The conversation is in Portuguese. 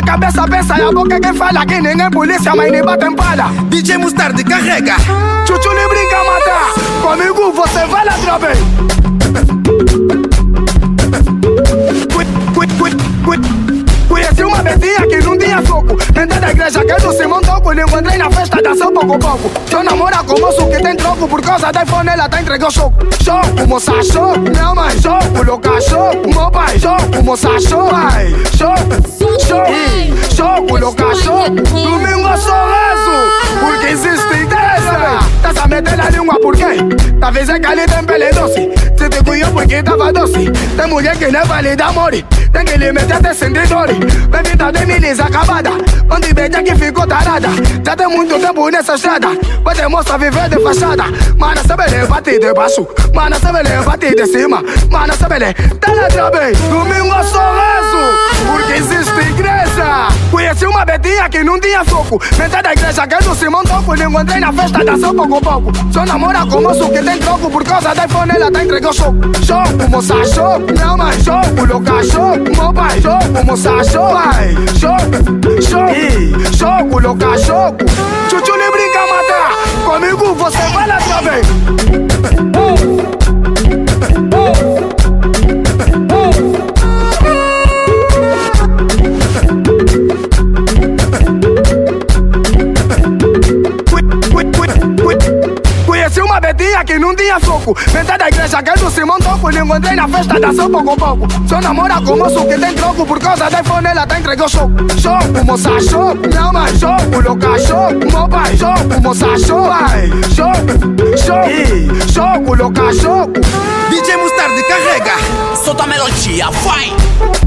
cabeça pensa e a boca quem fala. Que ninguém polícia, mas nem bate em palha. DJ Mostarda carrega. Chuchu lhe brinca a matar. Comigo você vai lá outra vez. Conheci uma betinha que não tinha soco. Dentro da igreja que não se montou. Quando encontrei na festa, dançou pouco a pouco. Eu namoro com moço que tem troco. Por causa da iPhone ela tá entregando choco. Choco, moça, choco. Minha mãe, choco, louca, choco. Meu pai, choco, moça, choco. Pai, choco, choco, choco, louca, choco. Domingo eu sou rezo, porque existe igreja. Tá a meter na língua por quê? Talvez é que ali tem pele doce. Se te cuiou porque tava doce. Tem mulher que não vale de amor. Tem que lhe meter até sentir dor. Bem-vinda de milícia acabada. Onde beija que ficou tarada. Já tem muito tempo nessa estrada. Pode moça viver de fachada. Mana sabe ler, bate de baixo. Mana sabe ler, bate de cima. Mana sabe ler, tá na trave. Domingo eu sou rezo, porque existe igreja. Conheci uma betinha que não tinha soco. Metade da igreja que não se montou. Quando encontrei na festa, dançou pouco a pouco. Só namora com moço que tem troco. Por causa da iPhone ela tá entregando choco. Choco, moça, choco. Minha mãe, choco, louca, choco. Meu pai, choco, moça, choco. Pai, choco, choco, choco, louca, choco. Chuchu lhe brinca a matar. Comigo você vai lá outra vez. Conheci uma betinha que não tinha soco. Metade da igreja que não se montou. Quando encontrei na festa, dançou pouco a pouco. Só namora com moço que tem troco. Por causa da iPhone ela tá entregando choco. Choco, moça, choco. Minha mãe, choco, louca, choco. Meu pai, choco, moça, choco. Pai, choco, choco, choco, louca, choco. DJ Mostarda carrega. Solta a melodia, vai!